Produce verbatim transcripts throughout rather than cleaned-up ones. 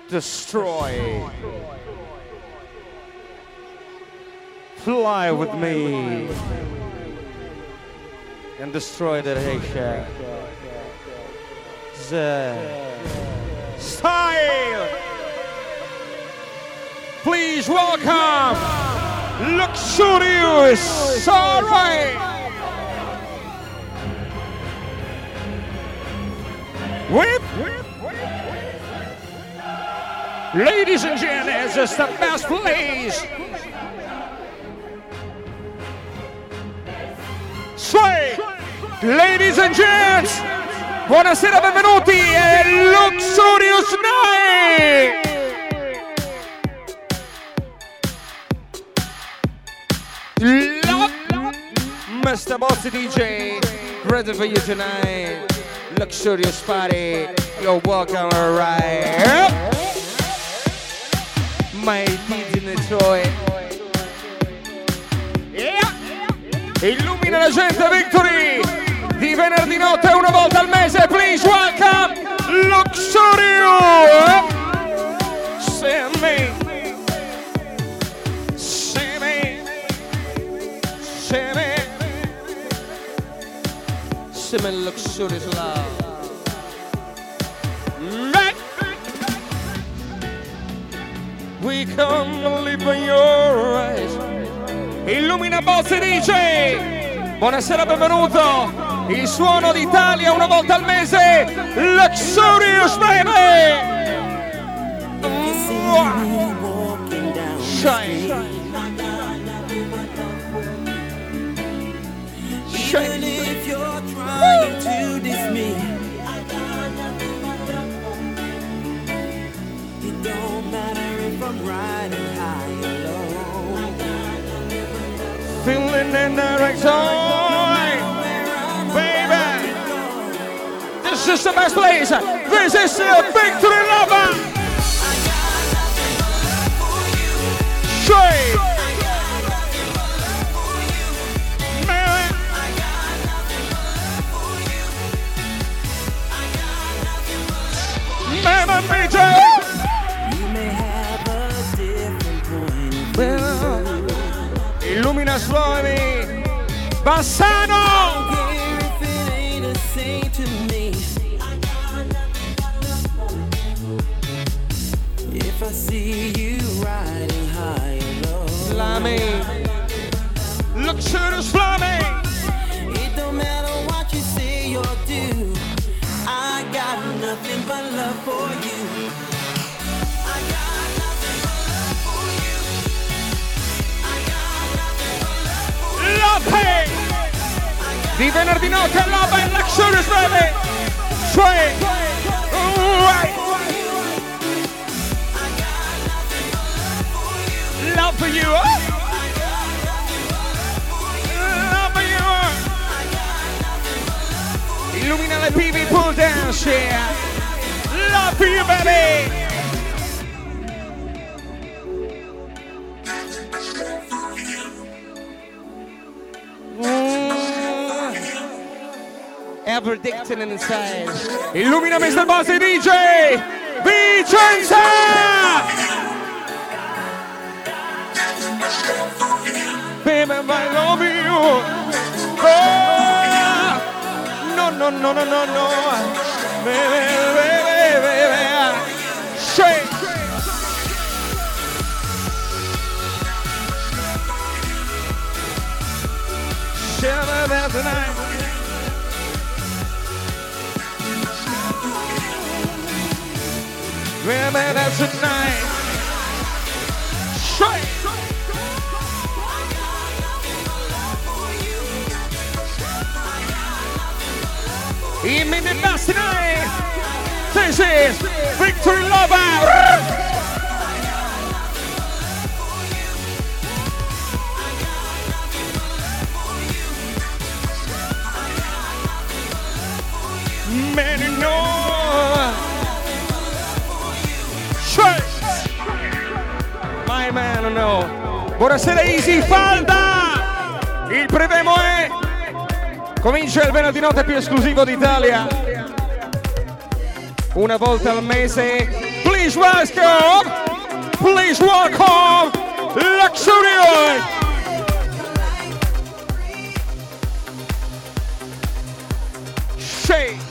destroy. Fly with me and destroy the Asia. The style. Please welcome Luxurious. All right. Whip. Ladies and gentlemen, this is the best place. Sway. Ladies and gents, buonasera, benvenuti a Luxurious Night. Mister Bossy D J, ready for you tonight. Luxurious party, you're welcome, alright. My kids in Detroit. Yeah. Illumina la gente, Victory. Di venerdì notte una volta al mese. Please welcome Luxurious. See me. See me. See me. See me, Luxurious love. We come to live in your eyes. Illumina Bossy D J. Buonasera, benvenuto. Il suono d'Italia una volta al mese. Luxurious, baby. Shine. Shine. If you're trying to diss me, it don't matter if I'm riding high or low. Feeling in the right zone, baby. This is the best place. This is the Victory Lover. Straight. Mama Major. Illumina suoni Bassano. If I see you riding high and low, Flammy, Luxurious Flammy. It don't matter what you say or do, I got nothing but love for you. I got nothing but love for you. Love di venerdì notte, Love and Luxurious, baby. Sway. Right. Love for you. Love for you. Illumina le P V pull dance, yeah. Love for you, baby. Ever addicted inside. Illumina mister Bossy D J Vicenza. Baby, I love you. Oh, no, no, no, no, no, no. Baby, baby, baby. Shake. Shiver there tonight. Remember that tonight. Straight. In minute last tonight. This is Victory Lover. Many know. My man, no. Buonasera Easy Falda. Il prevemo è. Comincia il venerdì notte più esclusivo d'Italia. Una volta al mese. Please welcome, please welcome, Luxurious. Shake.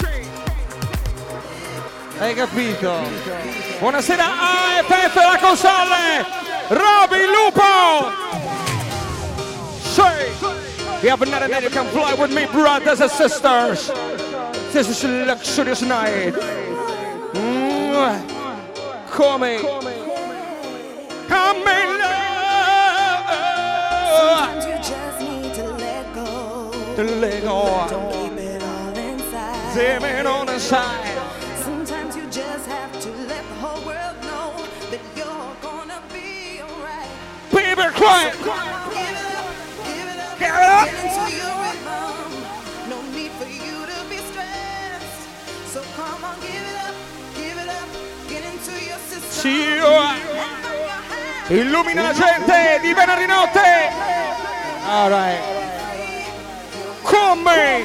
Hai capito? Buonasera A F F la console, Roby Lupo. Shake. You have another night you can fly with me, brothers and sisters. This is a luxurious night. Mm. Come, come in love. Sometimes you just need to let go. To let go. Don't keep it all inside. Zip it on the side. Sometimes you just have to let the whole world know that you're gonna be alright. People cry. Give it up, give it up, Give it up. get into your rhythm. No need for you to be stressed. So come on, give it up, give it up, get into your system. Sì, Let go your hand. illumina la gente di venerdì notte. All right. Come?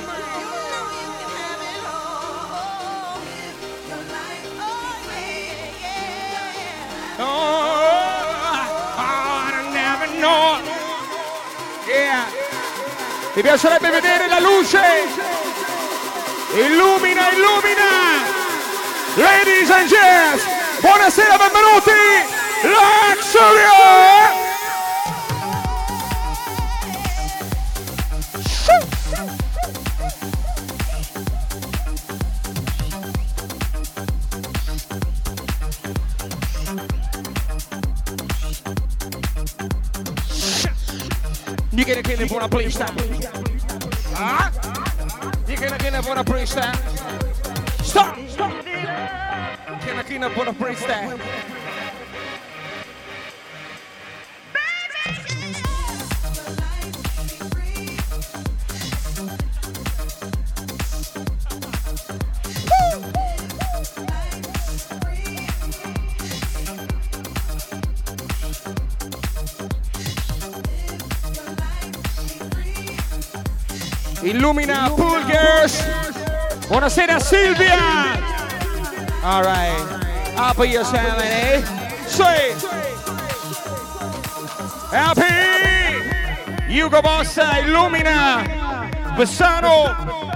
Yeah. Mi piacerebbe vedere la luce. Illumina, illumina. Ladies and gents, buonasera, benvenuti. Luxurious. You gonna get it for a police time? Huh? You gonna get it for a police time? Stop! Stop! Can I get it for a police time? Illumina Pool Girls. Buonasera Silvia. All right. Up yourself, eh? Say. Happy. Hugo Bossa, illumina. Bessano.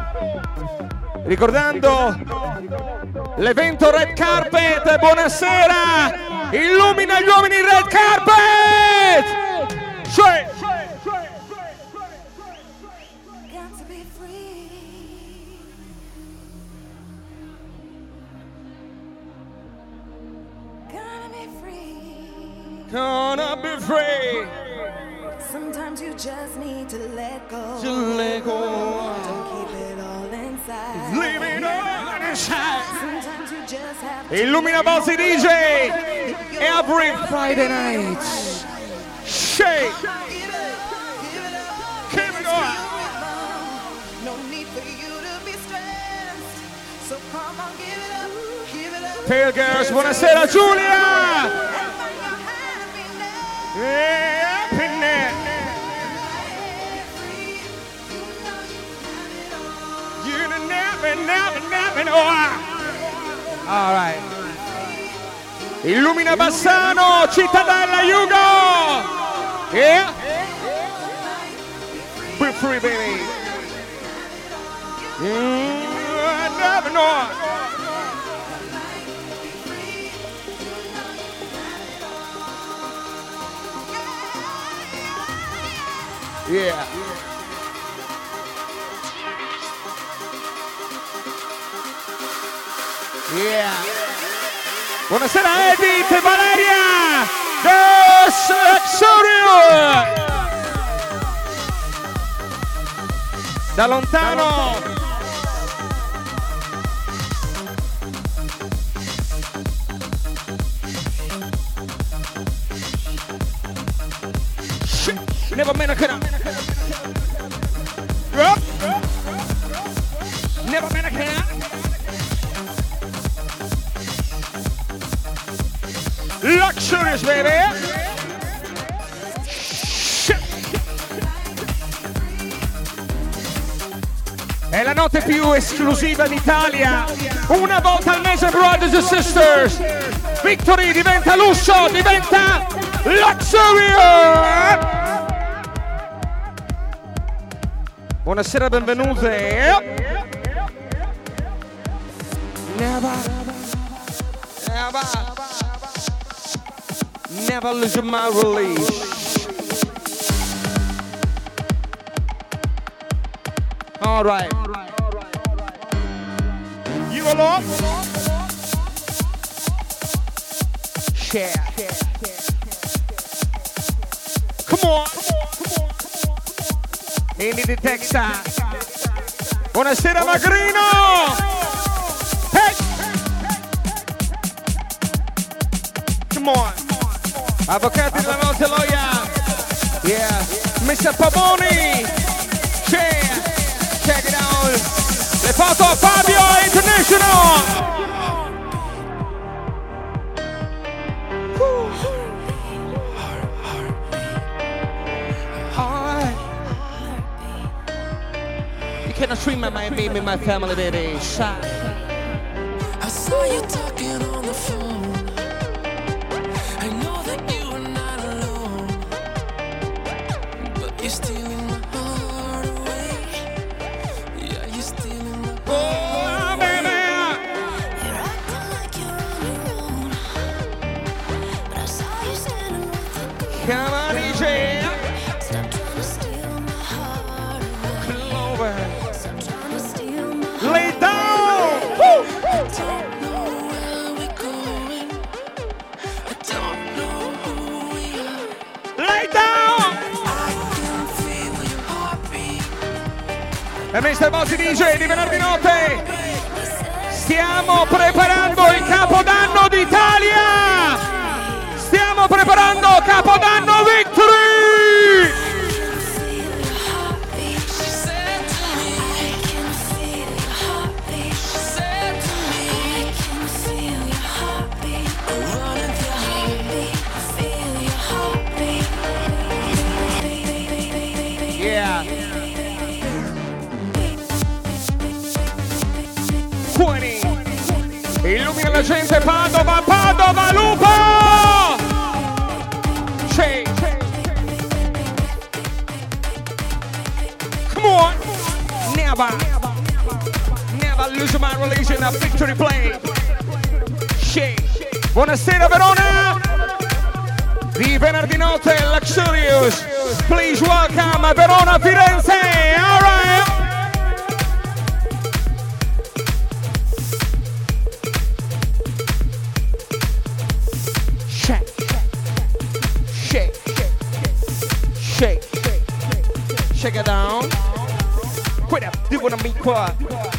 Ricordando l'evento Red Carpet. Buonasera. Illumina gli uomini Red Carpet. Say. Gonna be free. Sometimes you just need to let go. To let go. Don't keep it all inside. Leave it all inside. Sometimes you just have to Illumina Bozzi D J every Friday night. Shake. give it up, give it up. Keep it going. No need for you to be stressed. So come on, give it up, give it up. Pale Girls, buonasera Giulia. Happiness. You never, never, never know. All right. Illumina Bassano, Cittadella Hugo. Yeah. Be free, baby. You never know. Yeah. Yeah. Buonasera Edith, Valeria, The Luxurious. Da lontano. Never meant to cut up. Up. Never meant to cut up. Luxurious, baby. È la notte più esclusiva d'Italia. Una volta al mese, brothers and sisters. Victory diventa lusso, diventa luxury. Buonasera, benvenute. Never, never, never lose my release. All right. You alone? Share. Come on. Indy di Texas. Buonasera Magrino. Hey. Come on. Avvocati della notte loia. Yeah. mister Pavoni. Share. Check it out. Le foto a Fabio International. Alright. You cannot treat my my me, my family, baby. Shot. I saw you talking on the phone. I know that you are not alone, but you're stealing my heart away. Yeah, you're stealing my heart. Oh, baby. You're acting like you're on your own, but I saw you standing with a girl. Come on, D J. Stop trying to steal my heart away. Clover. Stop trying to steal my heart. Lay down. Woo. I don't know where we're going. I don't know who we are. Lay down. I can feel your heartbeat. E mister Bozzi D J di venerdì notte. Stiamo preparando il Capodanno d'Italia. Stiamo preparando Capodanno Victory. She said to me, I can feel your heartbeat. She said to me, I can feel your heartbeat. Running through your heartbeat. Feel your heartbeat. Yeah. twenty. Illumina la gente, Padova, Padova, Lupo! Shake. Come on. Never, never lose my religion, a victory play. Shake. Buonasera Verona. Di venerdì notte, Luxurious. Please welcome Verona Firenze. All right. Shake, shake, shake, shake it down. Quit up, do what I mean, qua.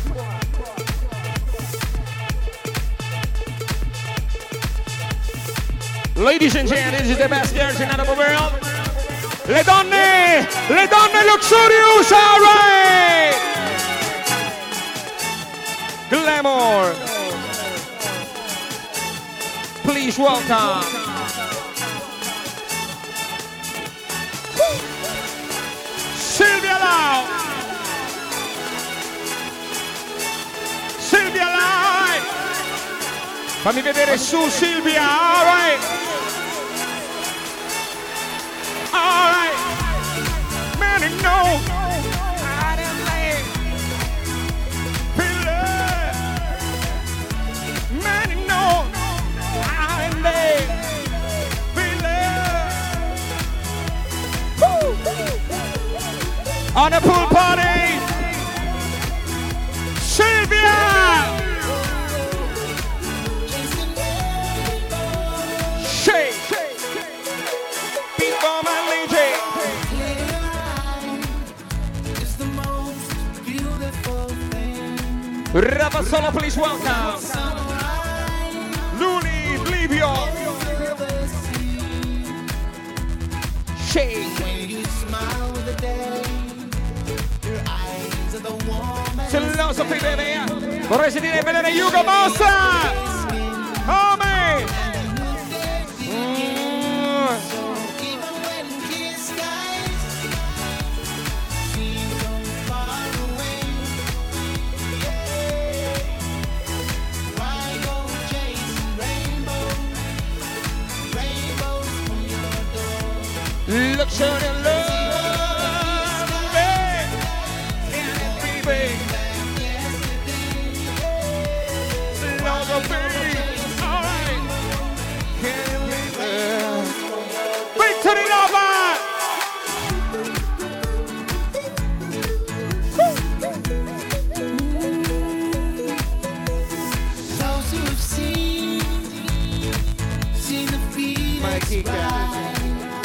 Ladies and gentlemen, this is the best girls in the world. Le donne, le donne Luxurious, all right. Glamour. Please welcome. Silvia Lau. Silvia Lau. Fammi vedere su Silvia, all right. All right. Man, you know, I didn't lay. Feel it. Man, you know, I didn't lay. Feel it. Woo. On a pool party. Silvia. Shake. Beat for my lady. Ravazzolo, please welcome. Luli, Livio. Shake. Philosophy, baby. Vorrei sentire vedere Hugo Mossa. Oh, man. Mm. Luxury love, baby. Can it be, baby? Love of baby. All right. Can it be, baby? Victory lover. Those who have seen, seen the Phoenix rise.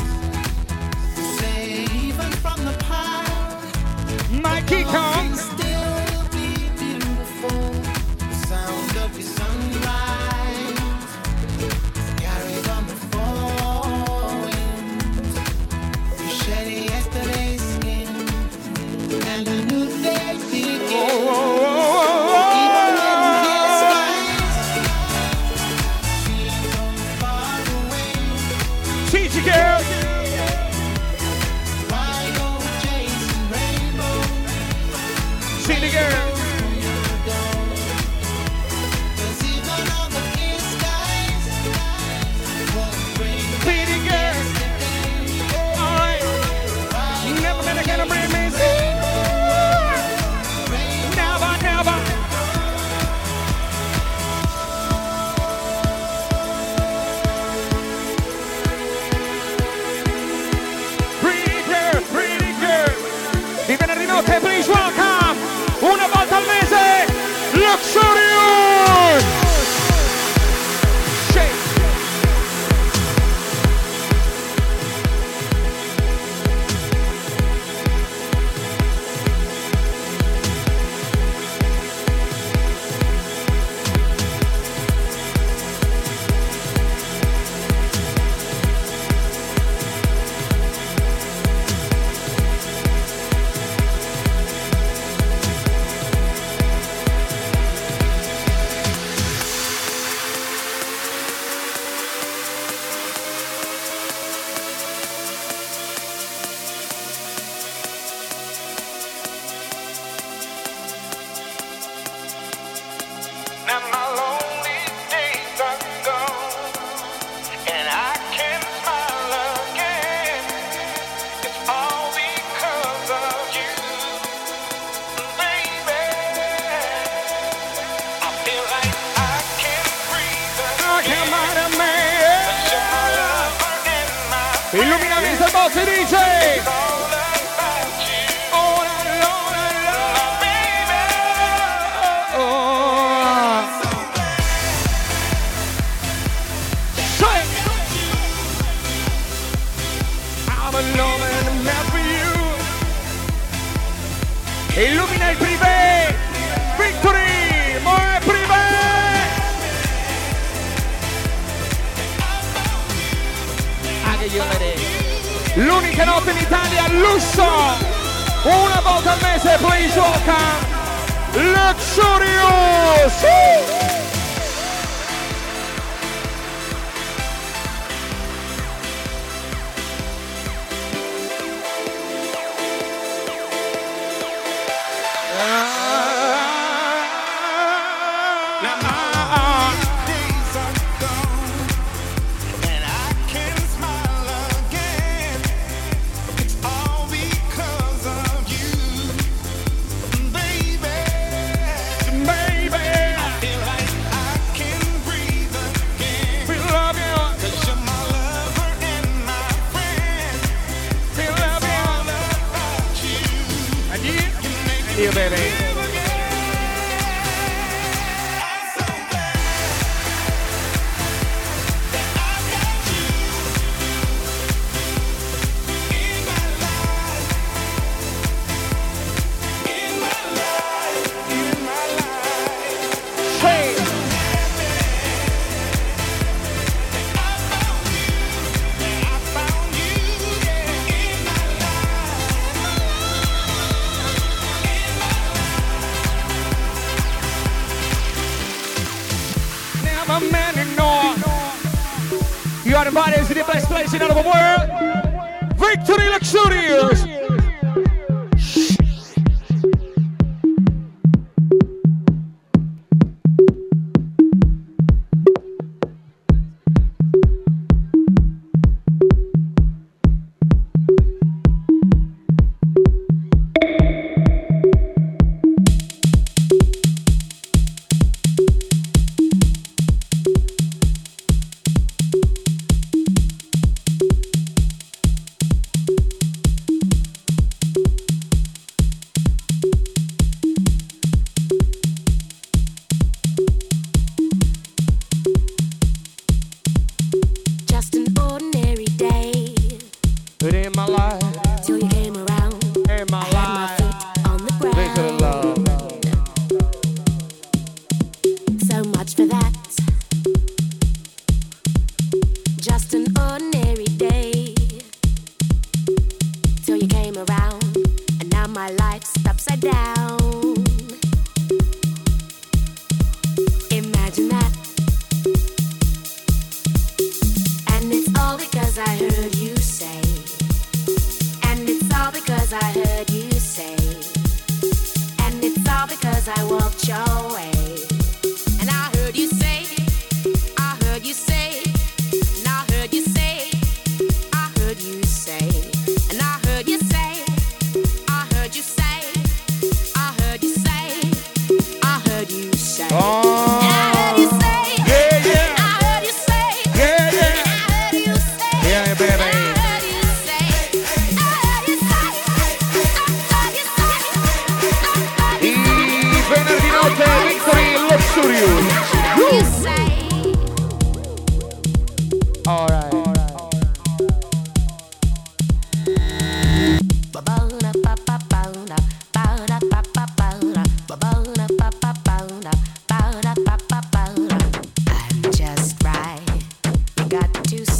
Say even from the past, Mikey comes. still be beautiful. The sound of your sunrise carried on the four winds. You shed yesterday's skin, and a new day begins. Even when the skies seem so far away, T G girl. why go chasing rainbows? See the girl. Cause even on the clear skies won't bring See the girl. All right. Never gonna get a bring me. Never, never. Pretty girl, pretty girl. Di venerdì notte, please welcome. Una volta al mese, Luxurious. Shake. Now my lonely days are gone, and I can smile again. It's all because of you, baby. I feel like I can breathe again. You're my lover and my friend. Illumina Mister Boss e dice. It's all about you, Oh, la, la, la, la. my baby. Oh. Shake. I'm alone and I'm mad for you. Illumina il privé. Victory, more privé. Anche io vedete. L'unica notte in Italia, lusso. Una volta al mese, please welcome. Luxurious. Days are gone, and I can smile again. It's all because of you, baby. Baby, I feel like I can breathe again. we love you. 'Cause you're my lover and my friend. We love you. All about you. And you, You make me you baby. live again. I'm so glad that I got you in my life, in my life, in my life. Hey, I found you, I found you, yeah, in my never man ignore. You are invited to the best place in all the world. Victory Luxurious.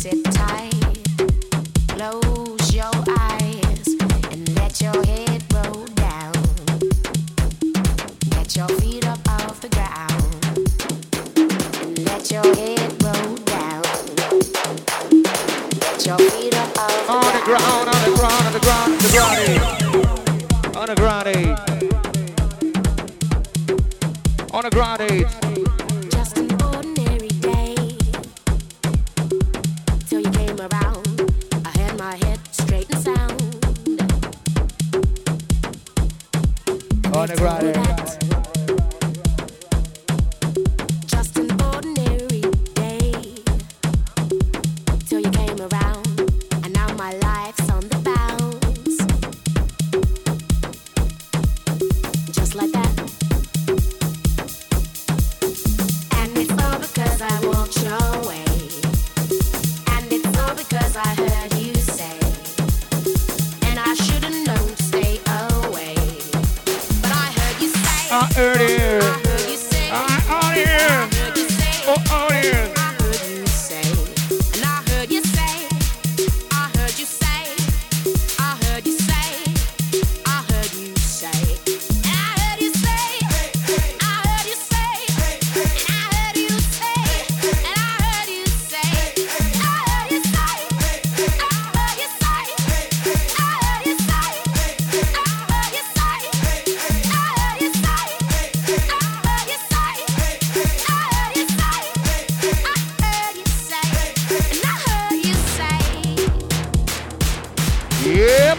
Sit tight, close your eyes, and let your head roll down. Get your feet up off the ground, and let your head roll down. Get your feet up off the On the ground, on the ground, on the ground, on the ground, on the ground, on the ground. Just an ordinary day till you came around. I had my head straight and sound. On the ground. Just an ordinary day till you came around, and now my life's on the bounce. Just like that. And it's all because I walked your way. And it's all because I heard you say. And I should've known to stay away. But I heard you say. I heard I it. heard you say. I heard it. I heard you say. Oh, oh, yeah. I heard you say. And I heard you say. I heard you say. I heard you say. I heard you say. And I heard you say. I heard you say. And I heard you say. And I heard you say. I heard you say. I heard you say. I heard you say. I heard you say. I heard you say. I heard you say. I heard you say. I heard you say. And I heard you say. Yep.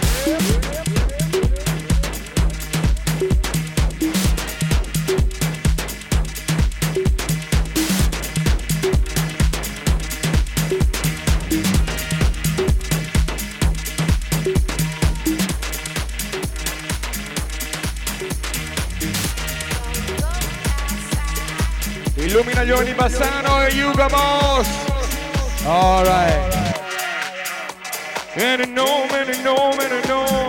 Illumina Giovanni Bassano e Hugo Boss. All right. And no, and no, and no.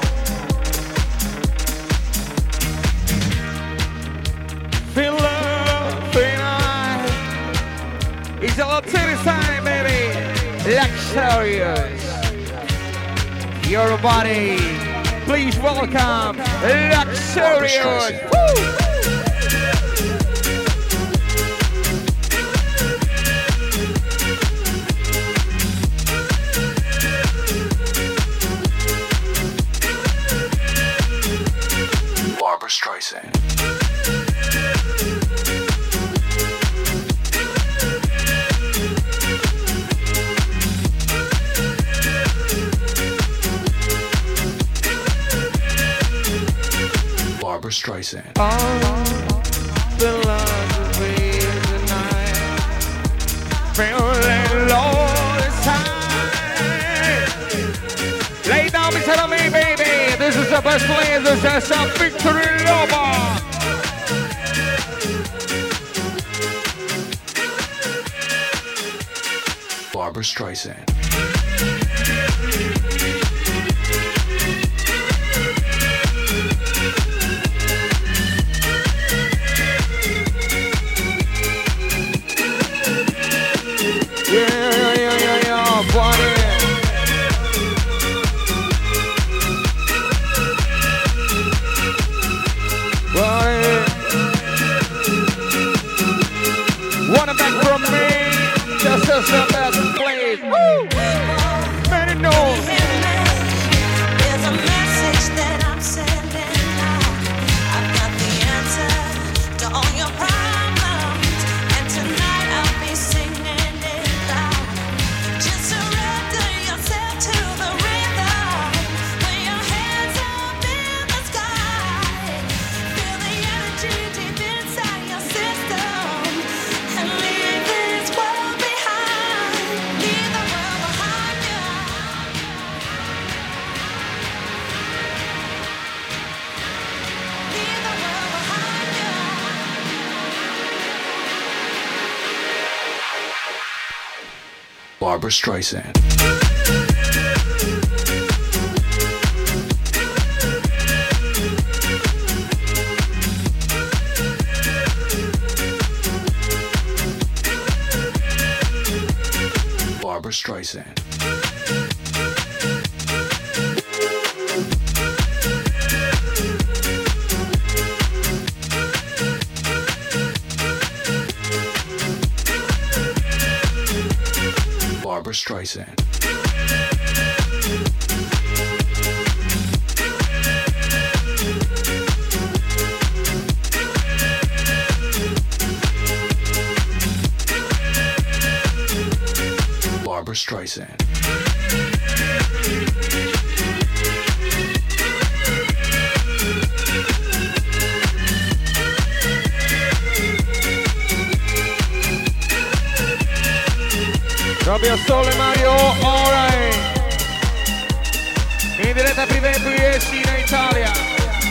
Feel love, feel nice. It's a lot of time, baby. Luxurious. Your body. Please welcome Luxurious. Woo! Barbara Streisand. Barbara Streisand. All the love we tonight, feeling all the time. Lay down beside of me, baby. This is the best place. This is a victory lover. Barbara Streisand. Yeah, yeah, yeah, yeah, yeah, party. Party. Wanna back from me? Just as the best place. Woo! Many know. There's a message that I'm sending out. I've got the answer to all your problems, and tonight I'll be singing it loud. Just surrender yourself to the rhythm. Put your hands up in the sky. Feel the energy deep inside your system, and leave this world behind. Leave the world behind you. Leave the world behind you. Barbara Streisand. Barbra Streisand. Barbra Streisand. Barbra Streisand. Proprio Sole Mario Orai in diretta privé in Italia.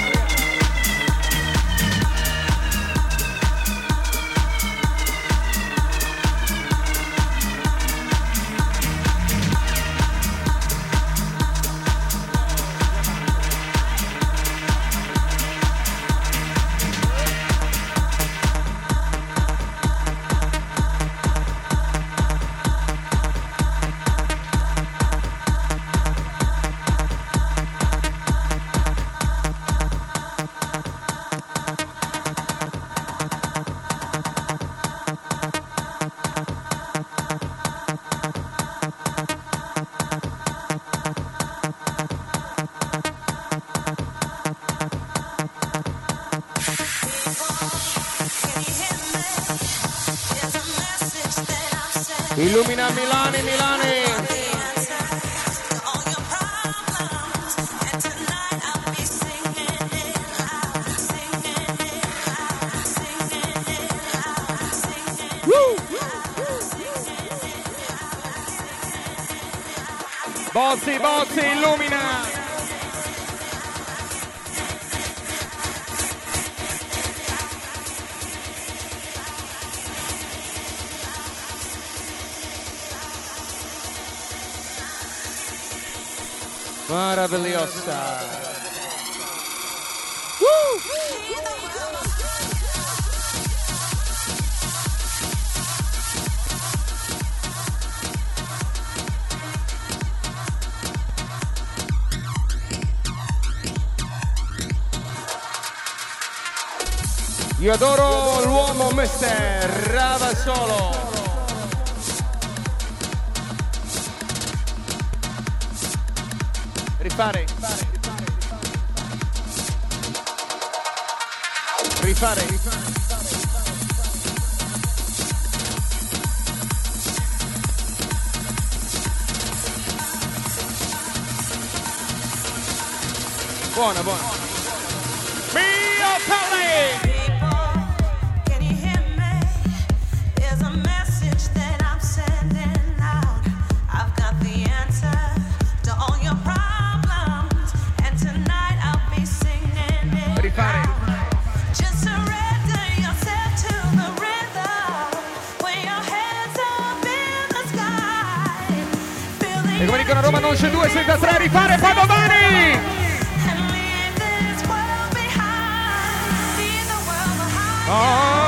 Illumina Milani, Milani. Bozzi, Bozzi, illumina. Maravillosa. Woo! Io adoro l'uomo mister Ravasolo. Rifare. Rifare. Buona, buona. Mio Pelle! E come dicono a Roma non c'è due senza tre, rifare Padovani! Oh!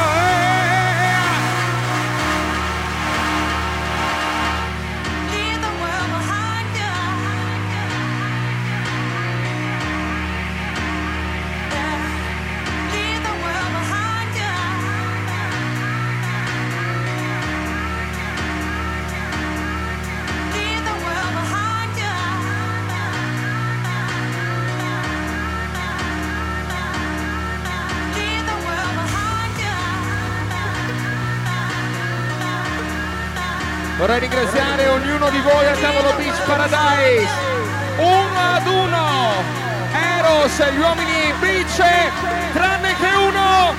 Vorrei ringraziare ognuno di voi a tavolo Beach Paradise, uno ad uno, Eros, gli uomini Beach, tranne che uno.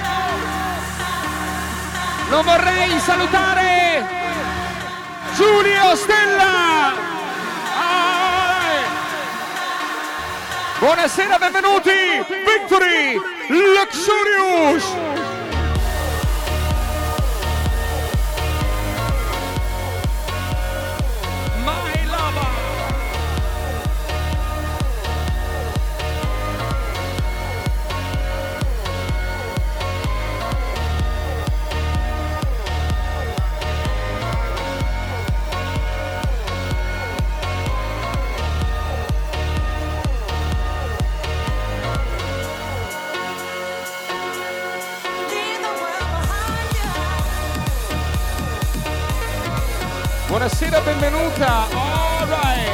Non vorrei salutare Giulio Stella. Ah! Buonasera, benvenuti, Victory Luxurious. Buonasera, benvenuta. All right.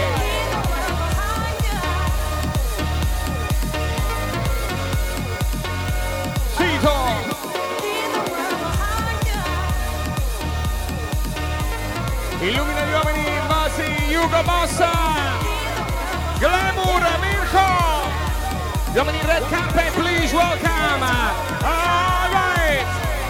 Sito. Illumina gli uomini, Masi, Hugo Bossa. Glamour, Mirko. Gli uomini in red carpet, please welcome. All right.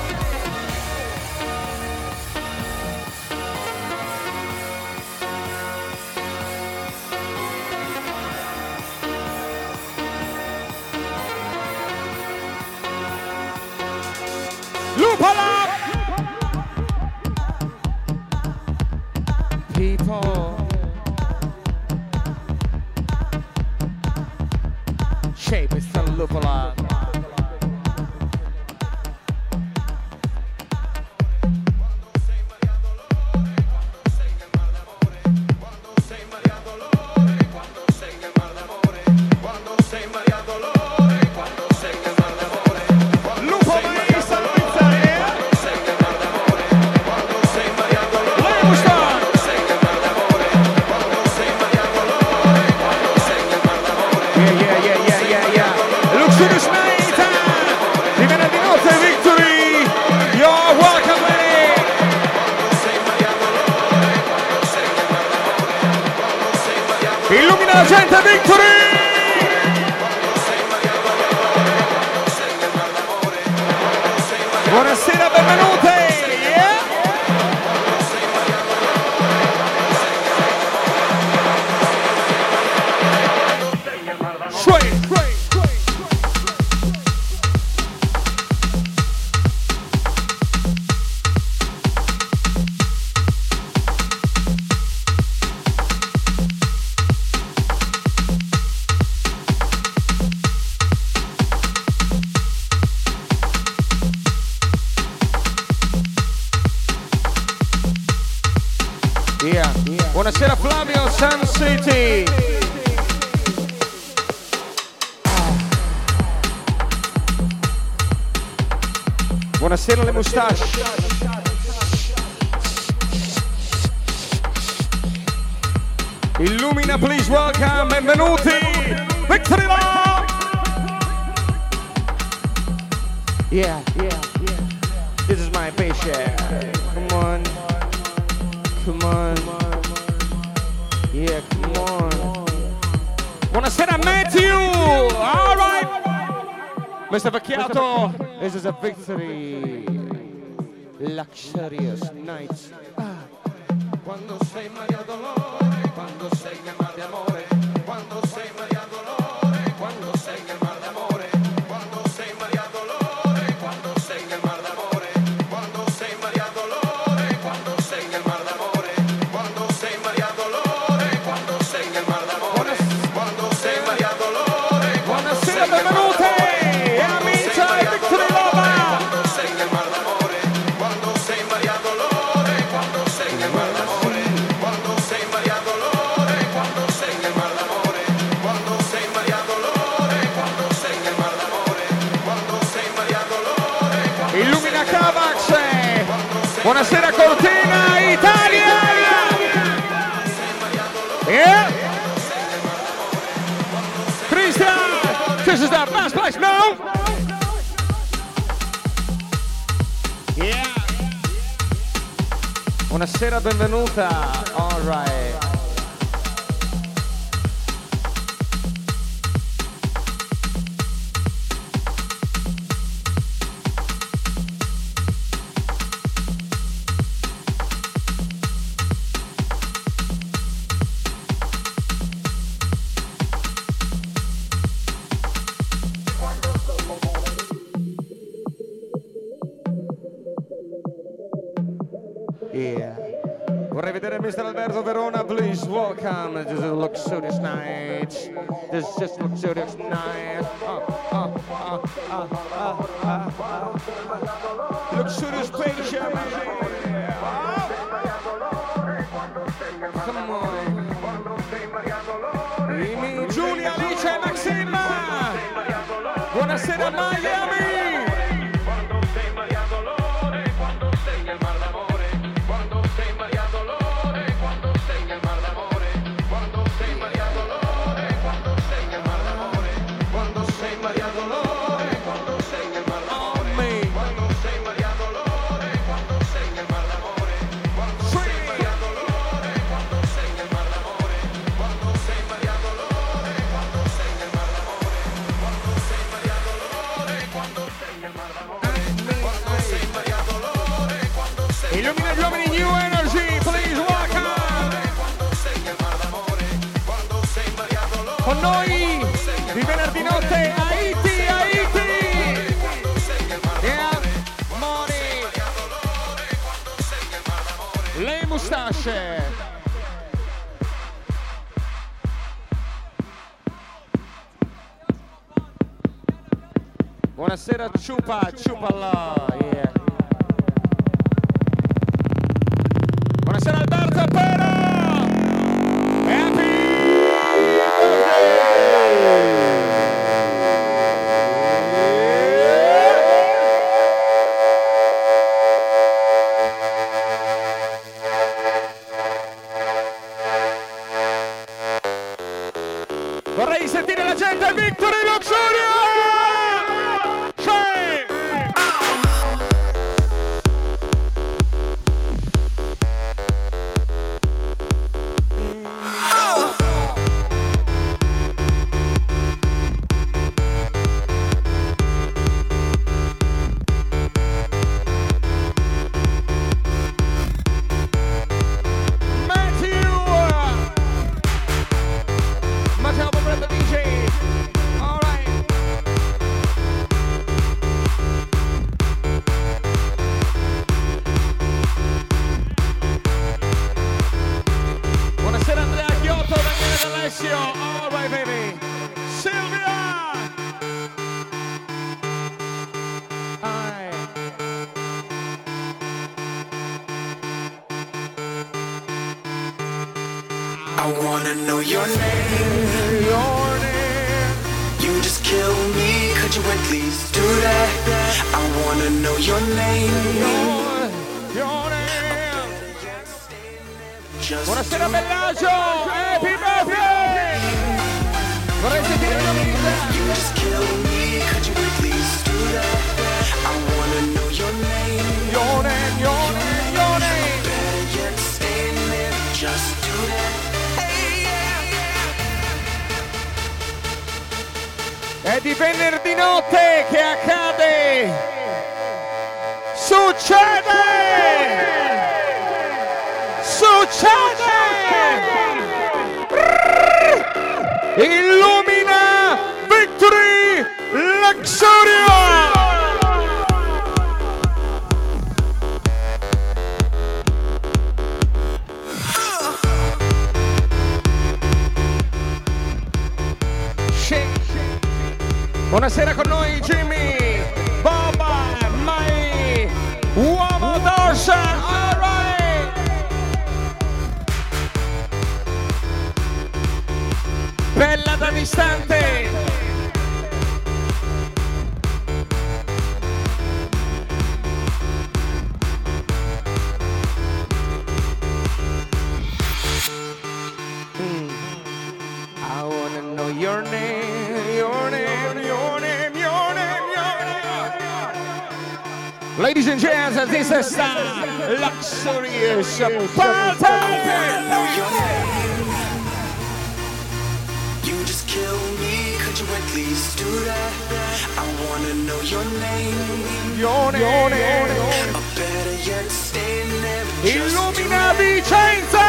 Lupala! People. Shape is the Lupala. Illumina la gente, Victory! Buonasera, benvenute! Yeah. Sway, sway. Yeah. Yeah. Buonasera Flavio, Sun City. Buonasera le moustache. Illumina, please welcome, benvenuti. Victory Love. Yeah, yeah, yeah. This is my patient. Come on. Come on. Yeah, come on. Buonasera Matthew. All right. Mister Vecchiato, this is a victory. Luxurious night. Quando sei Maria Dolore, quando sei che mar di amore, quando sei Maria Dolore, quando sei che mar di amore, quando sei Maria Dolore, quando sei che mar di amore, quando sei Maria Dolore, quando sei che mar di amore, quando sei Maria Dolore, quando sei che mar di amore, quando sei Maria Dolore, buonasera, benvenute, e amici di Victory Love, quando sei che mar di amore, quando sei Maria Dolore, quando sei che mar di amore, quando sei Maria Dolore, quando sei che mar di amore, quando sei Maria Dolore, quando sei che mar di amore, quando sei Maria Dolore, illumina Cavax, buonasera Cortina, Italia! Yeah! Christian, this is the best place, no? Yeah! Buonasera, benvenuta, all right. Yeah. Vorrei vedere mister Alberto Verona, please welcome. This is a luxurious night. This is just luxurious night. Uh, uh, uh, uh, uh, uh, uh. Luxurious patient. Uh. Come on. Amy, Giulia, Alice e Maxima. Buonasera Miami. Quando con noi di venerdì notte Haiti, Haiti. Yeah, money. Le mustasce. Buonasera ciupa, ciupala. Yeah. Buonasera Alberto Pero. Happy vorrei sentire la gente, Victory Luxuria! C'è! All right, baby. Silvia. Aye. I wanna know your name. Your name. You just kill me. Could you at least do that? I wanna know your name. Your, your name. Just Buonasera Bellagio. Happy birthday. Vorrei sentire la musica. you just kill me. Could you at least do that? I wanna know your name. Your name, your name, your name. Better yet, stay in there. Just do that. Hey, yeah. È di venerdì notte che accade. Succede. Succede. Illumina Victory Luxuria. Buonasera con noi Jimmy, Boba, Mai, uomo d'orsa, all right. Bella da distante. Mm. I wanna know your name, your name, your name, your name, your name. Ladies and gents, this is the luxurious party. Know your name. You just kill me. Could you at least do that? I wanna know your name. Your name, your name. Or better yet, stay in there. Just do Illumina that. Vicenza.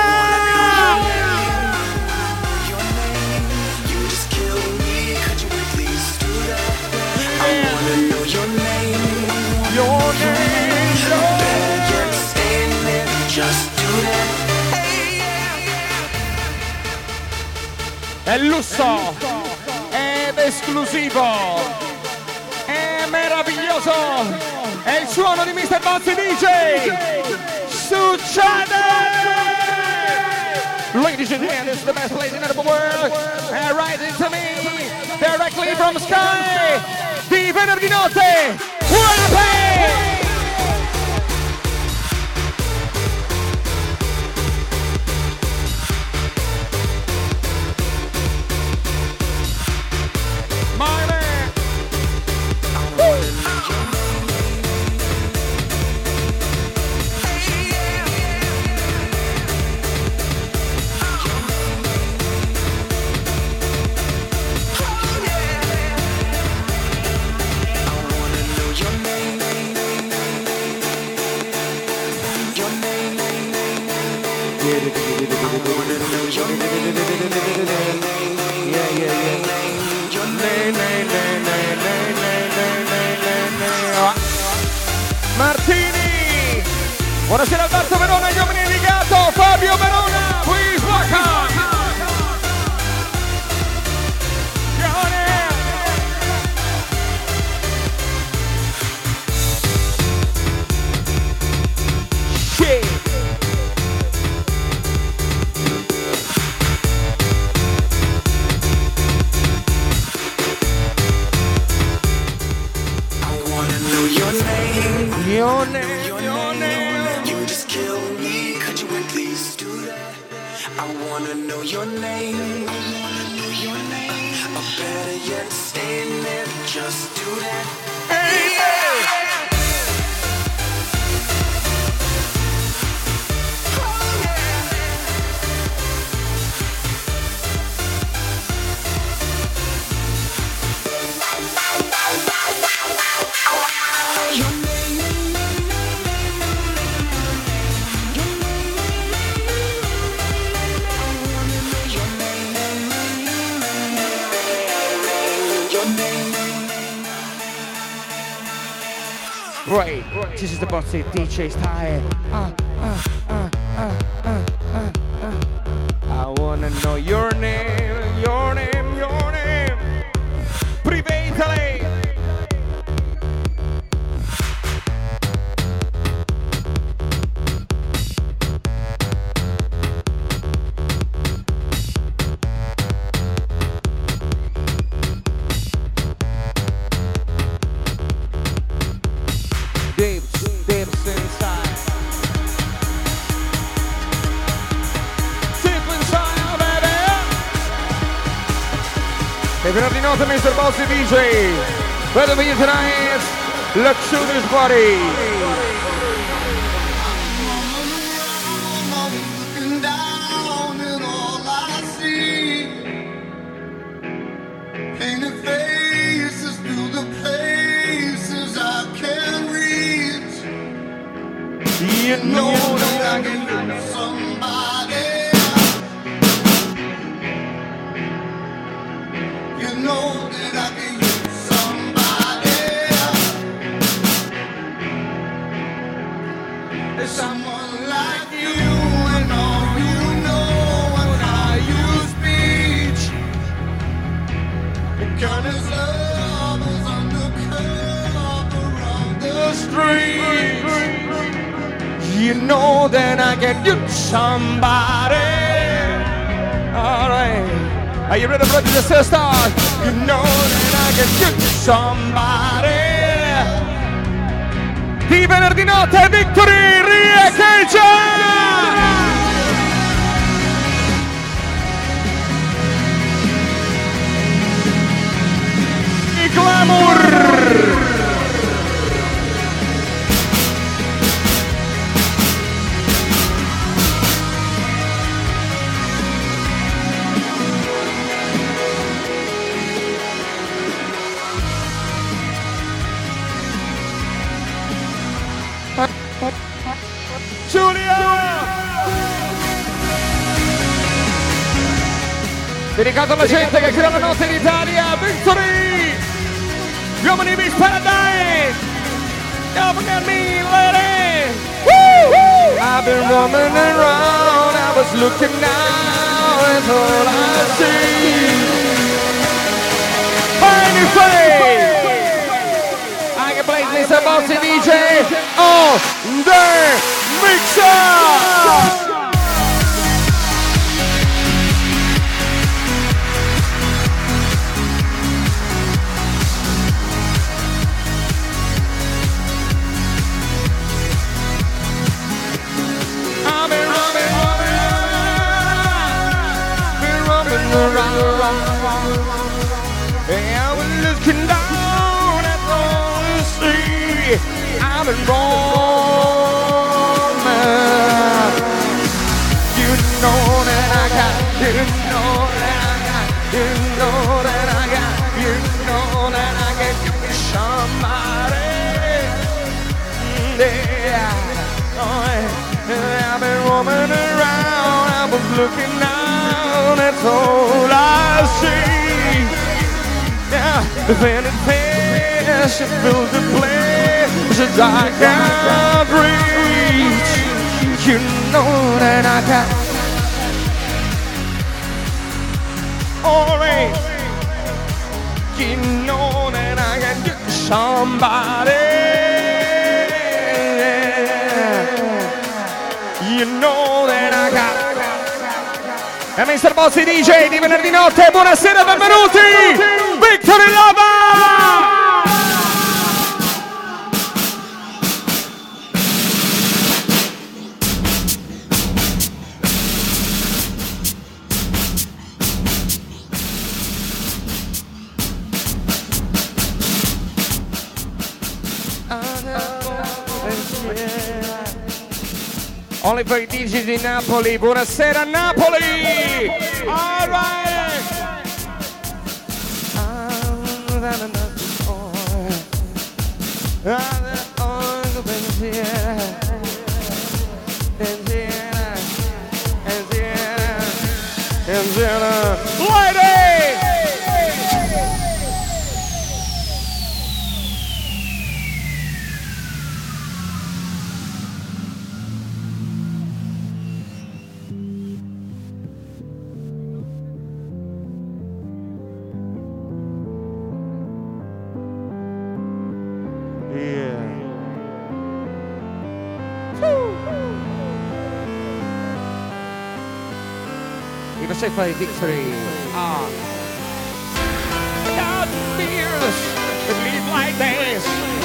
Your name. You just kill me. Could you at least do that? I wanna know your name. Your name, your Better yet, stay in there. Just do that. Hey, yeah. È lusso, ed esclusivo, è meraviglioso, è il suono di mister Bozzi D J. Succede! Ladies and gentlemen, this is the best place in the world. And rising to me, directly from Sky, di venerdì notte, Wallaby! My man! Yeah, yeah, ne, ne, ne, ne, ne, ne, ne, ne, ne. Martini. Buonasera Alberto Verona, gli uomini di Gato, Fabio Verona, please welcome. Your name, your name. You just kill me. Could you at least do that? I wanna know your name. I wanna know your name. Or better yet, stay there. Just do that. Hey, yeah. Oh yeah. Your name. Right, this is the bossy D J style. Uh, uh, uh, uh, uh, uh, uh. I wanna know your name, your name, your name. Privately. Deep, deep inside. Deep inside, baby. E venerdì notte mister Bossy D J. Better be tonight. Let's shoot this party. Looking down and all I see painted faces through the places I can't reach. You know that I can can. love somebody. You know that I can use somebody. There's someone like you and all you know and how you speech. The kind of love is undercover of the streets. You know that I can use somebody. Alright. Are you ready, brothers and sisters? You know that I can use somebody. Di venerdì notte, Victory Riecheggia! I glamour! Giulia! Dedicato alla gente che crea la notte in Italia, Victory! Gli uomini di Paradise! Don't forget me, lady! Woo! I've been roaming around, I was looking now, that's all I see. Anyway! I can play mister Bossy D J on the mixer! I've been running, running, been running around. I was looking down at the sea. I've been wrong, man. You know that I got, you know that I got, you know that I got, you know that I can give me somebody. Yeah, oh, yeah. I've been roaming around, I was looking down, that's all I see. Yeah, Then it fades, it fills the place that I can't reach. You know that I got alright. You know that I can get somebody. You know that I got. E mister Bozzi D J di venerdì notte, buonasera, benvenuti! Victory Lover! Only per i D J di Napoli, buonasera Napoli! All right! Lady! Say for victory. Ah. Without fears, believe like this.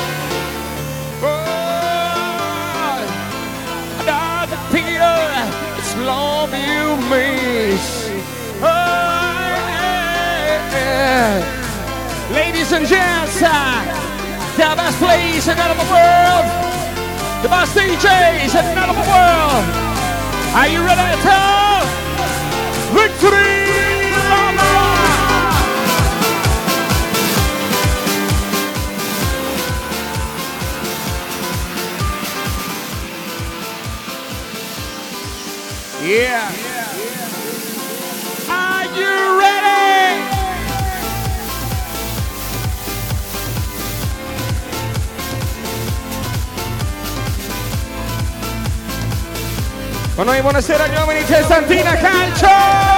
Oh, without the fear, it's love you miss. Oh, yeah. Ladies and gents, the best place in the world, the best D Js in the world. Are you ready to tell? Victory Lover! Yeah. Are you ready? Con noi buonasera gli uomini di Santina Calcio!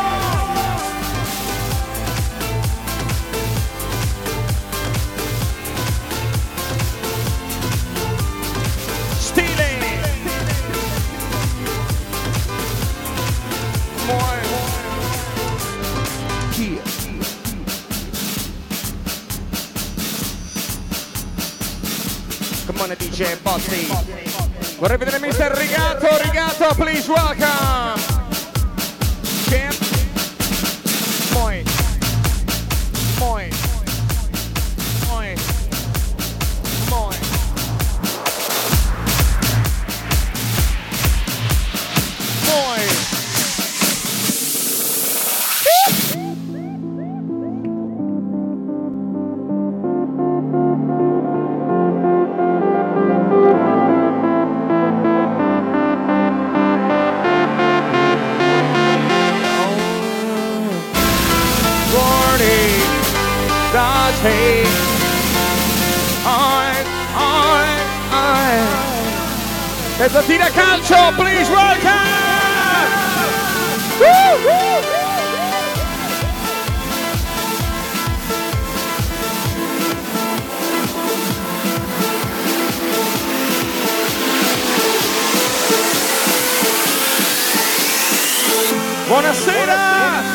D J Bozzi. Vorrei vedere mister Rigato, Rigato, please welcome. Champ. Moi. Moi. Moi. Moi. Moi. Hey, I, I, I. It's a Tina Calcio, please welcome. Woo, woo. Buonasera.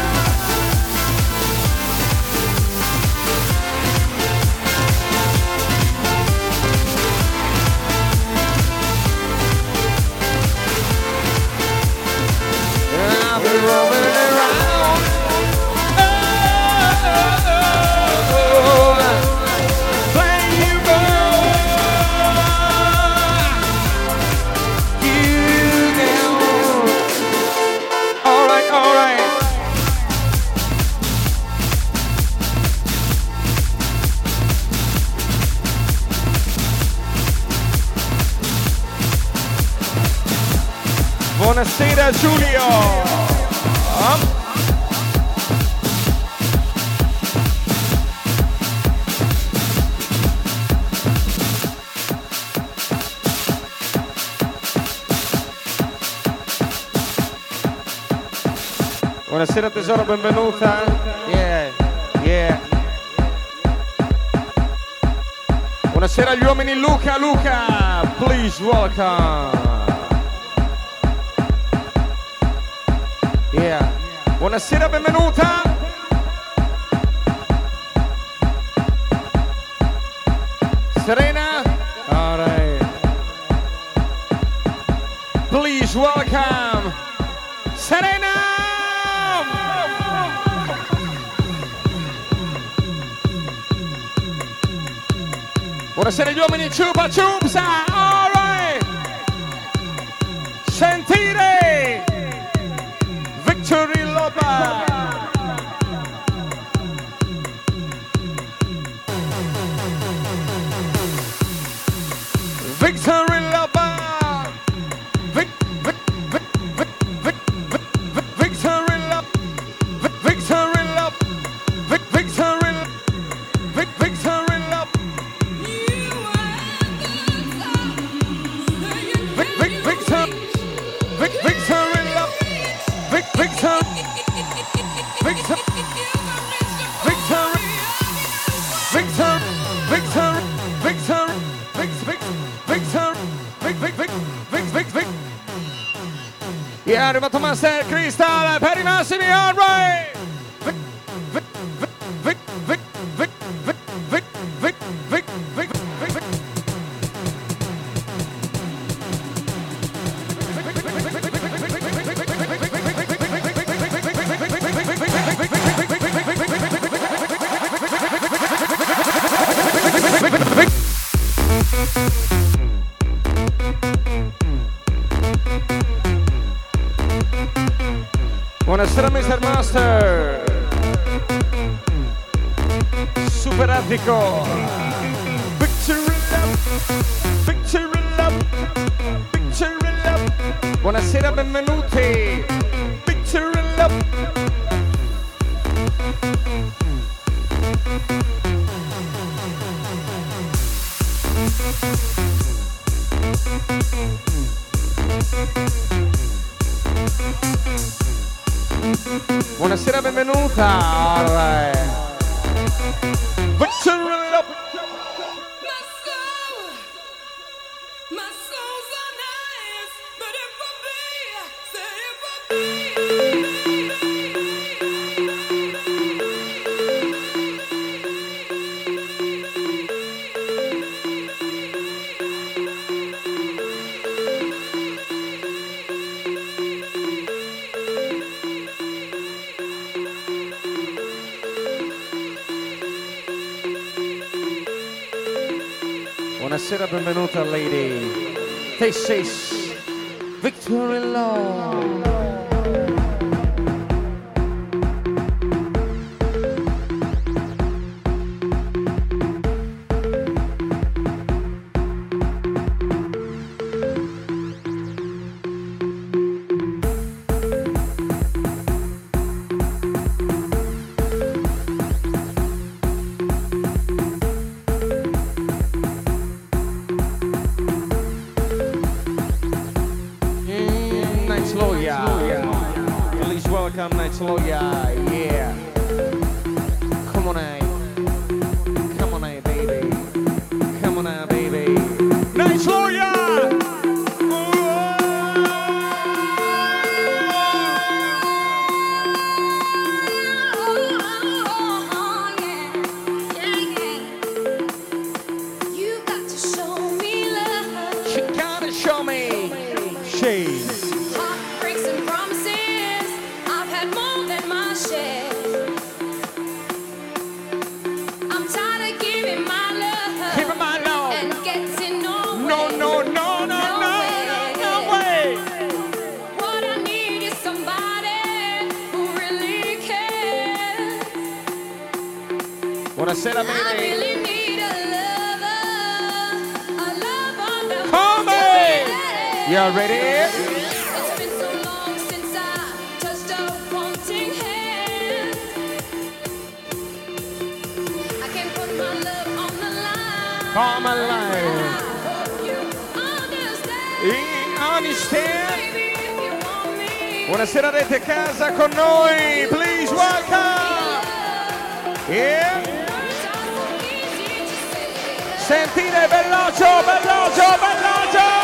Buonasera Giulio. Um. Buonasera tesoro, benvenuta. Yeah, yeah. Buonasera agli uomini Luca, Luca, please welcome. Yeah. Buonasera, benvenuta. Serena. All right. Please welcome Serena. Buonasera agli uomini Chupa Chupsa, all right. Sentire Victory Loba. Victory Loba. Vic, vic, vic, vic, vic, vic, vic, Victory Loba. Vic, Victory Loba. Vic, Victory Loba. Vic, Victory Loba. Vic, Vic, Victor, Vic, Victor in love, Vic, Victor, Victor, Victor, Victor, Victor, Victor, Vic, Vic, Victor, Vic, Vic, Vic, Vic, Vic, Vic. E è arrivato Master Crystal per i massimi, all right. Vic, Vic, Vic, Vic, Vic, Vic, Vic, Vic, Vic, Vic, Vic, Vic, Vic. Buonasera mister Master. Super Attico. Victory Love. Victory Love. Victory Love. Buonasera, benvenuti. Victory Love. Buonasera, benvenuta. All right. Victory Love. My soul, my soul's on ice, but if I be, say if I be. Buonasera, benvenuta lady. This is Victory Love. Welcome, Night Lawyer, yeah. Come on, eh. Come on, eh, baby. Come on, eh, baby. Night Lawyer! You got to show me love. She gotta show me. Shades. Heartbreaks and promises, I've had more than my share. I'm tired of giving my love. Give her my love. And getting nowhere. No, no, no, no, no, no, no way. What I need is somebody who really cares. Buonasera, I baby. really need a lover, a lover that Come wants to on. be You ready? It's been so long since I touched a wanting hand. I can't put my love on the line. Come I alive. hope you understand. You understand? Baby, if you want me, Buonasera rete casa con noi, please welcome. Yeah. Sentite Bellagio, Bellagio, Bellagio.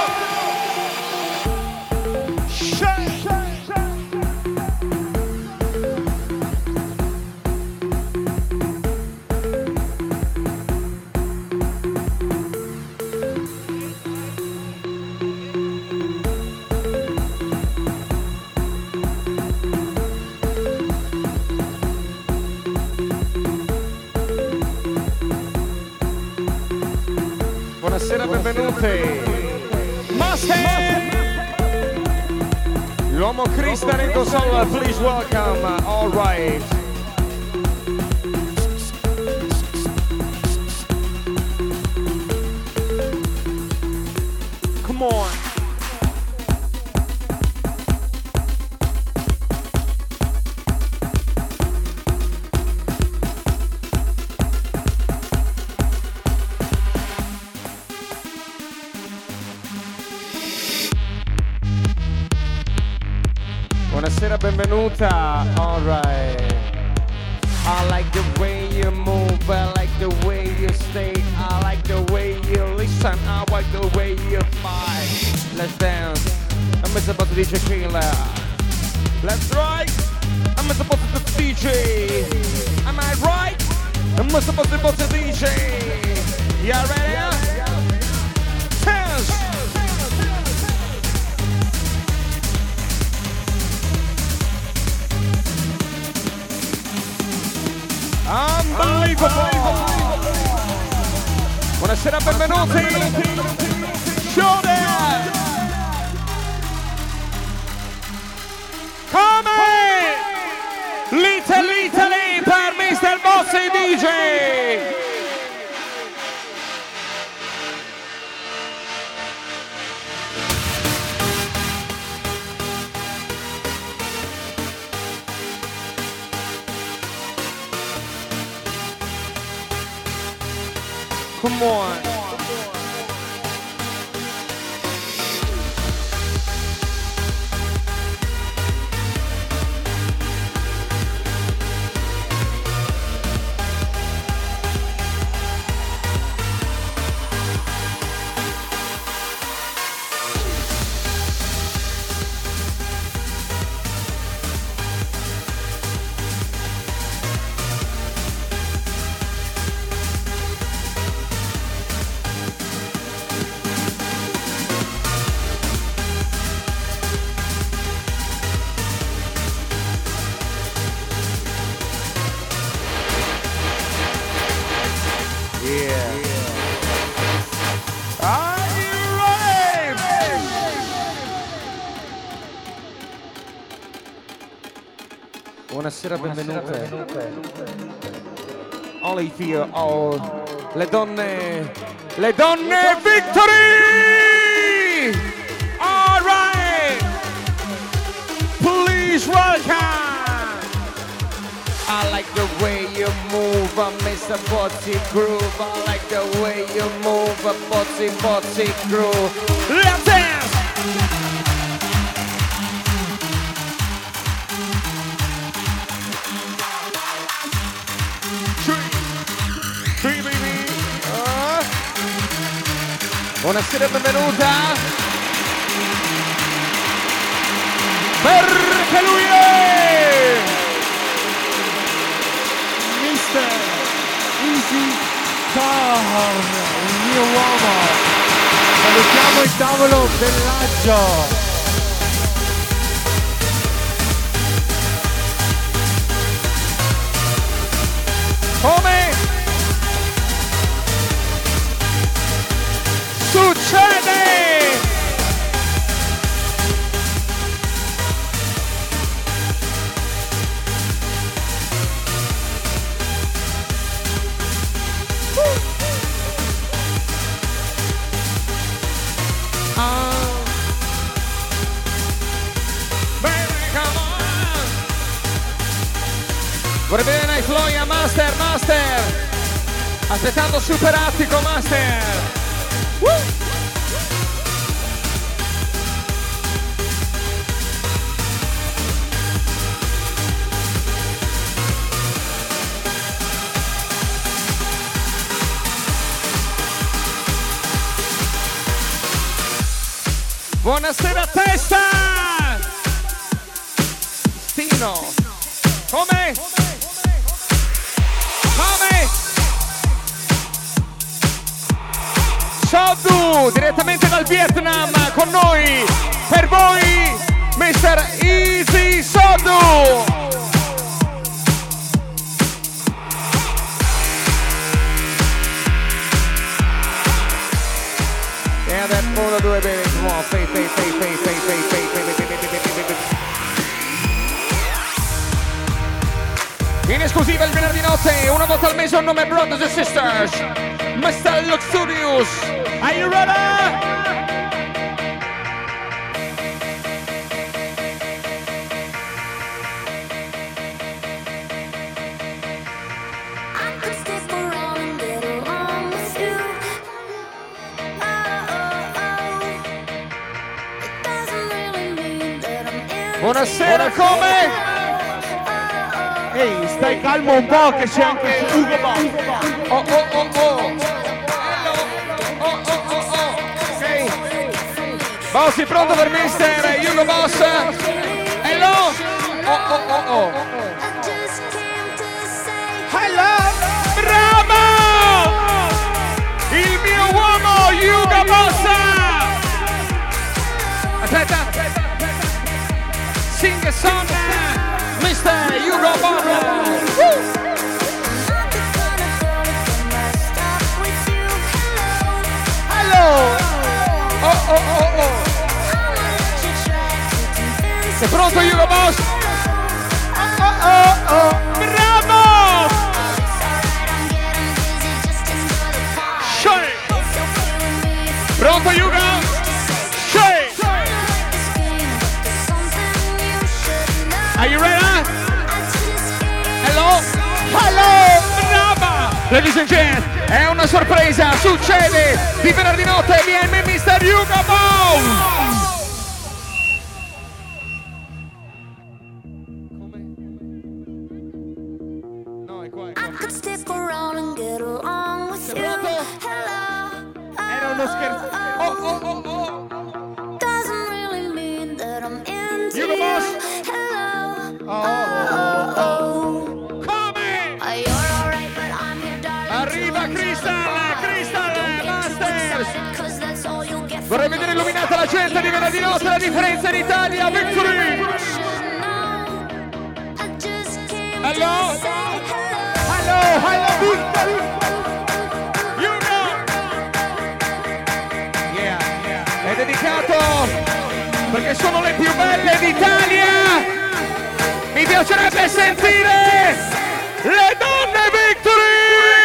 Buonasera, benvenuti. Master! L'uomo Cristian in console, please welcome. All right. Come on. Buonasera, benvenuta. All right. I like the way you move, I like the way you stay, I like the way you listen, I like the way you fight. Let's dance. I'm about to D J Killer. Let's right. I'm about to D J. Am I right? I'm about to D J. You ready? Dance. Unbelievable! Buonasera, benvenuti! Showdown! Come! Little Italy per mister Bossi D J! Come on. Buonasera, benvenute. Only fear, all le donne, le donne victory! All right! Please welcome! I like the way you move, I miss a Bozzi groove. I like the way you move, a Bozzi, Bozzi groove. Let's dance! Buonasera, benvenuta. Perché lui è mister Easy Car, il mio uomo. Salutiamo il tavolo Bellagio. Come succede? Vorrei vedere Night Floyd, Master, Master! Aspettando Super Attico, Master! Woo! Buonasera testa! Stino! Come? Come? Soddu, direttamente dal Vietnam, con noi, per voi, mister Easy Soddu! E adesso uno, due, bene, nuovo, fei, fei, fei, fei, fei, fei, fei, fei, fei, fei, fei, fei. In esclusiva il venerdì notte, una volta al mese, un nome Brothers and Sisters, mister Luxurious, are you ready? Buonasera, come? Ehi, stai calmo un po' che c'è anche Ugo Boss. Oh oh oh oh. Hello. Oh oh oh oh. Ok. Bossi pronto per mister Hugo Boss. Hello. Oh oh oh oh. Hello. Bravo! Il mio uomo Hugo Boss. Aspetta. Sing a song, mister Hugo Boss. Woo! Hello! Oh oh oh oh! Sei pronto Hugo Boss? Oh oh oh oh! Bravo! Shake! Pronto Hugo? Are you ready? Hello? Hello! Brava! Ladies and gentlemen, è una sorpresa, succede di venerdì notte, viene mister Hugo Boss! Come? No, è qua, è qua. Sei pronto? Era uno scherzo. Oh, oh, oh, oh! Hugo Boss! Oh, oh, oh. Come? Arriva Crystal, Crystal Masters. Vorrei vedere illuminata la gente di venerdì notte, la differenza in Italia. Victory. Hello. Hello, hello, Victory. You know. Yeah, yeah. È dedicato perché sono le più belle d'Italia. Mi piacerebbe sentire le donne Victory!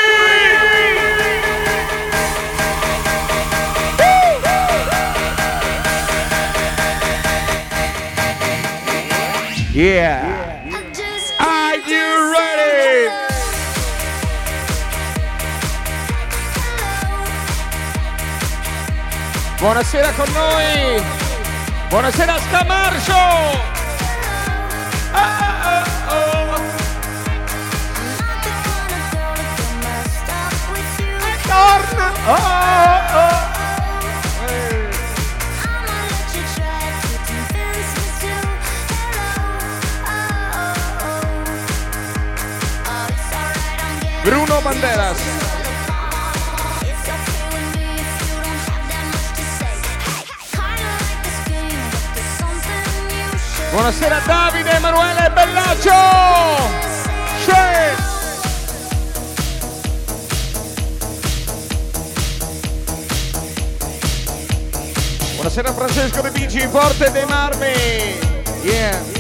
Yeah! Are you ready? Buonasera con noi! Buonasera Scamarcio! Oh, oh, oh. Torna! Oh, oh, oh. Bruno Banderas. Buonasera Davide Emanuele Bellaccio. C'è. Buonasera Francesco De Bici, Forte dei Marmi. Yeah.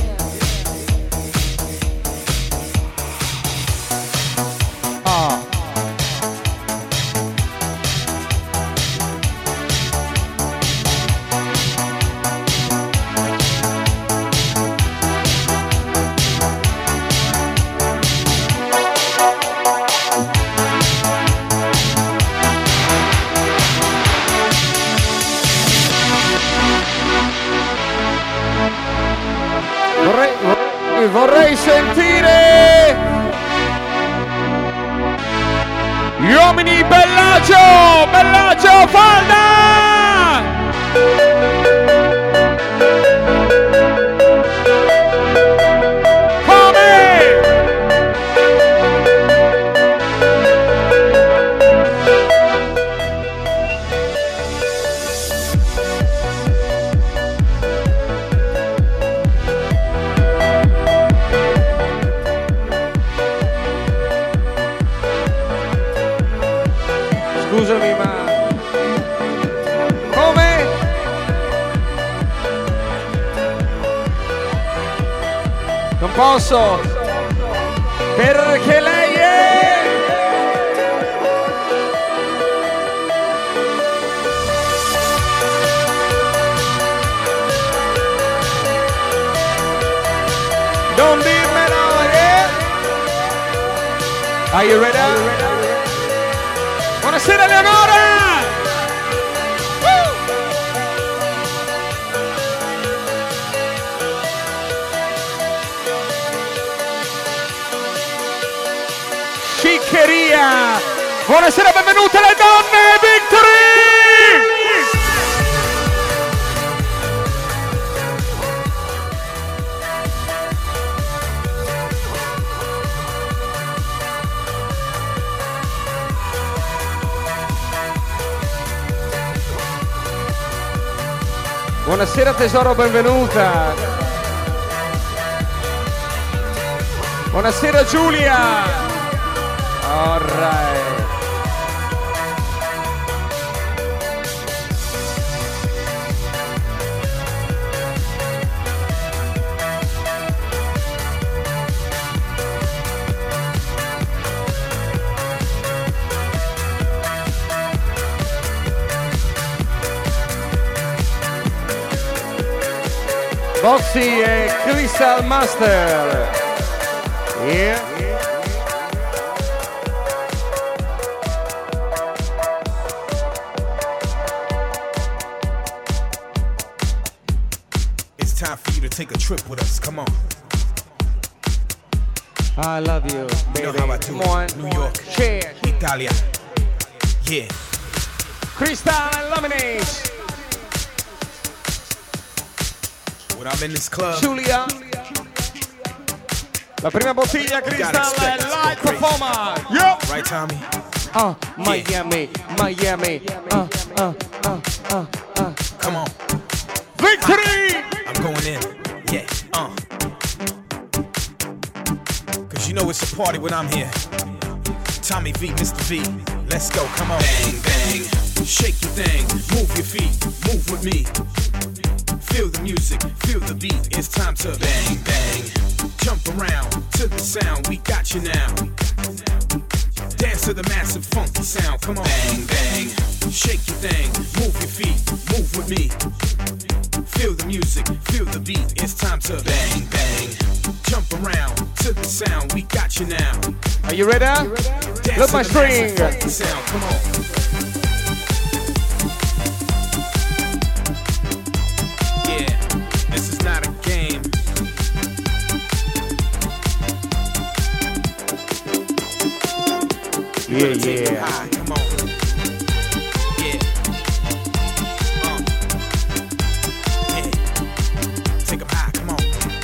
Ah. Vorrei, vorrei sentire gli uomini Bellagio, Bellagio Falda! scusami, ma... Come? Non posso! Perché lei è... Non dirmelo, yeah! Are you ready? Buonasera Leonora! Woo! Sciccheria! Buonasera, benvenute le donne, Victory! Buonasera tesoro, benvenuta. Buonasera Giulia. All right. Boxy e Crystal Master. Yeah. It's time for you to take a trip with us. Come on. I love you, baby. You know how I do Come on. it. New York. Cheers. Italia. Yeah. Crystal and Lemonade. When I'm in this club, Giulia. La prima bottiglia gotta Crystal expect e it to live go crazy. performer. Yep. right, Tommy? Uh, Miami, Miami. Uh, uh, uh, uh, uh. Come on. Victory! I'm going in. Yeah. Uh. Cause you know it's a party when I'm here. Tommy V, Mister V. Let's go. Come on. Bang, bang. Shake your thing. Move your feet. Move with me. Feel the music, feel the beat, it's time to bang, bang. Jump around to the sound, we got you now. Dance to the massive funky sound, come on. Bang, bang, shake your thing, move your feet, move with me. Feel the music, feel the beat, it's time to bang, bang. Jump around to the sound, we got you now. Are you ready? Dance Look to my the string. massive funky sound, come on. This is not a game. Yeah, Take 'em yeah. high, come on. Yeah. Uh. Yeah. Take 'em high, come on.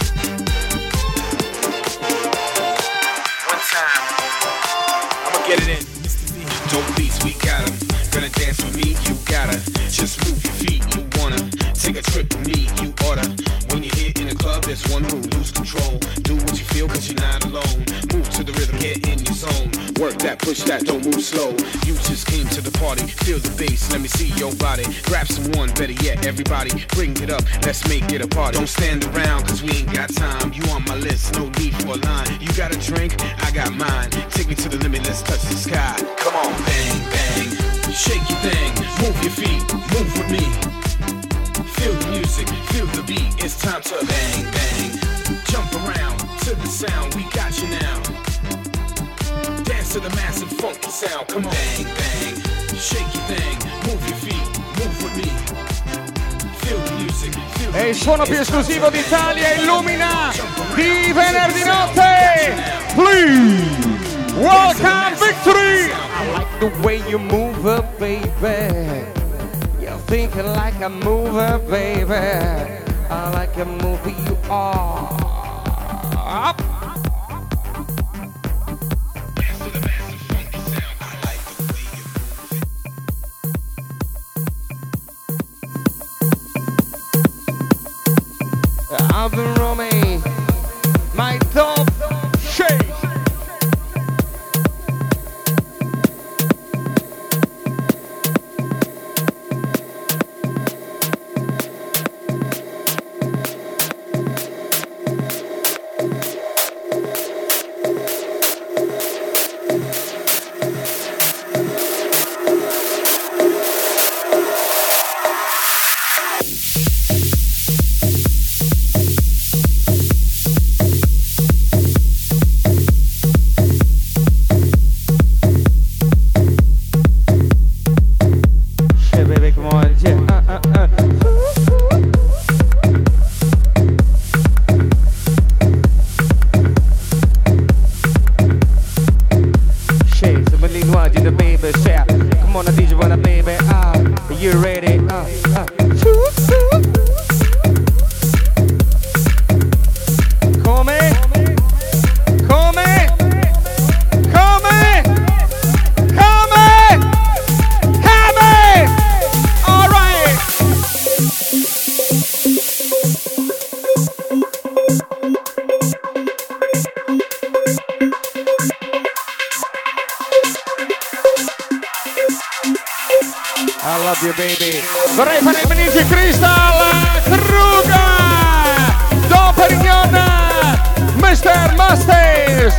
One time. I'ma get it in. Mister V. Dope beats, we got 'em. Gonna dance with me, you gotta. Just move your feet, you wanna. Take a trip with me, you oughta. When you're here in the club, there's one rule, lose control. Do what you feel, cause you're not alone. Move to the rhythm, get in your zone. Work that, push that, don't move slow. You just came to the party, feel the bass, let me see your body. Grab someone, better yet, everybody, bring it up, let's make it a party. Don't stand around, cause we ain't got time. You on my list, no need for a line. You got a drink, I got mine. Take me to the limit, let's touch the sky. Come on, bang, bang. Shake your thing, move your feet, move with me. Feel the music, feel the beat, it's time to bang, bang. Jump around to the sound, we got you now. Dance to the massive funky sound, come on. Bang, bang, shake your thing, move your feet, move with me. Feel the music, feel the E il beat, suono più it's time esclusivo to bang, d'Italia bang. illumina Jump around di to the venerdì sound, we got you notte. now. Please welcome Victory! I like the way you move up, baby. You're thinking like a mover, baby. I like a movie you are. Up. I've been roaming my top shape. I love you baby. Vorrei fare i benissimo Crystal Kruger, Don Perignon, mister Masters.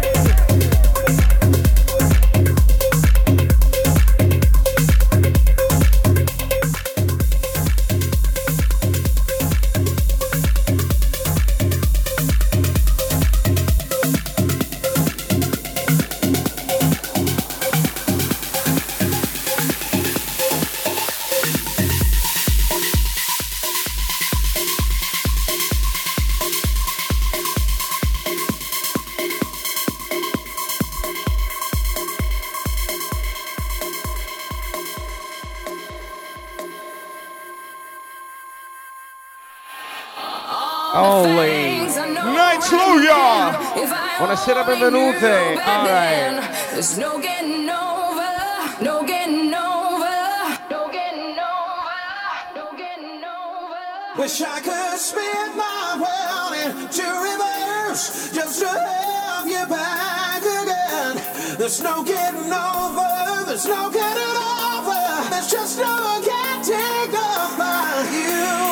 Holy Night Sluja! Buonasera, benvenute. All right. There's no getting over, no getting over, no getting over, no getting over. Wish I could spin my world into reverse just to have you back again. There's no getting over, there's no getting over, there's just no getting over you.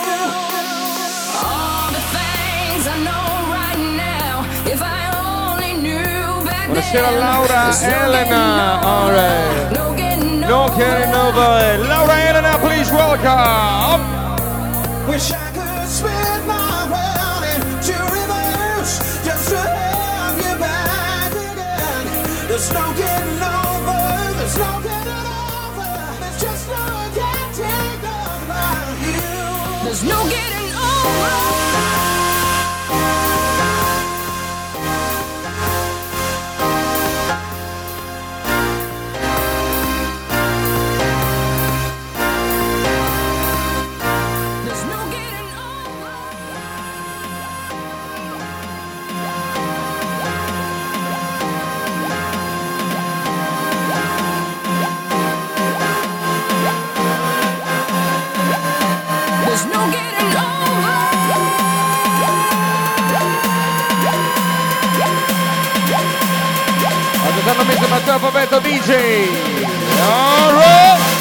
Buonasera Laura Elena. All right. No getting over. Laura Elena, please welcome. Wish I could spin my world into reverse just to have you back again. There's no getting over, there's no getting over, there's just no getting over you. There's no getting over. mister Matteo Fabetto D J. All right.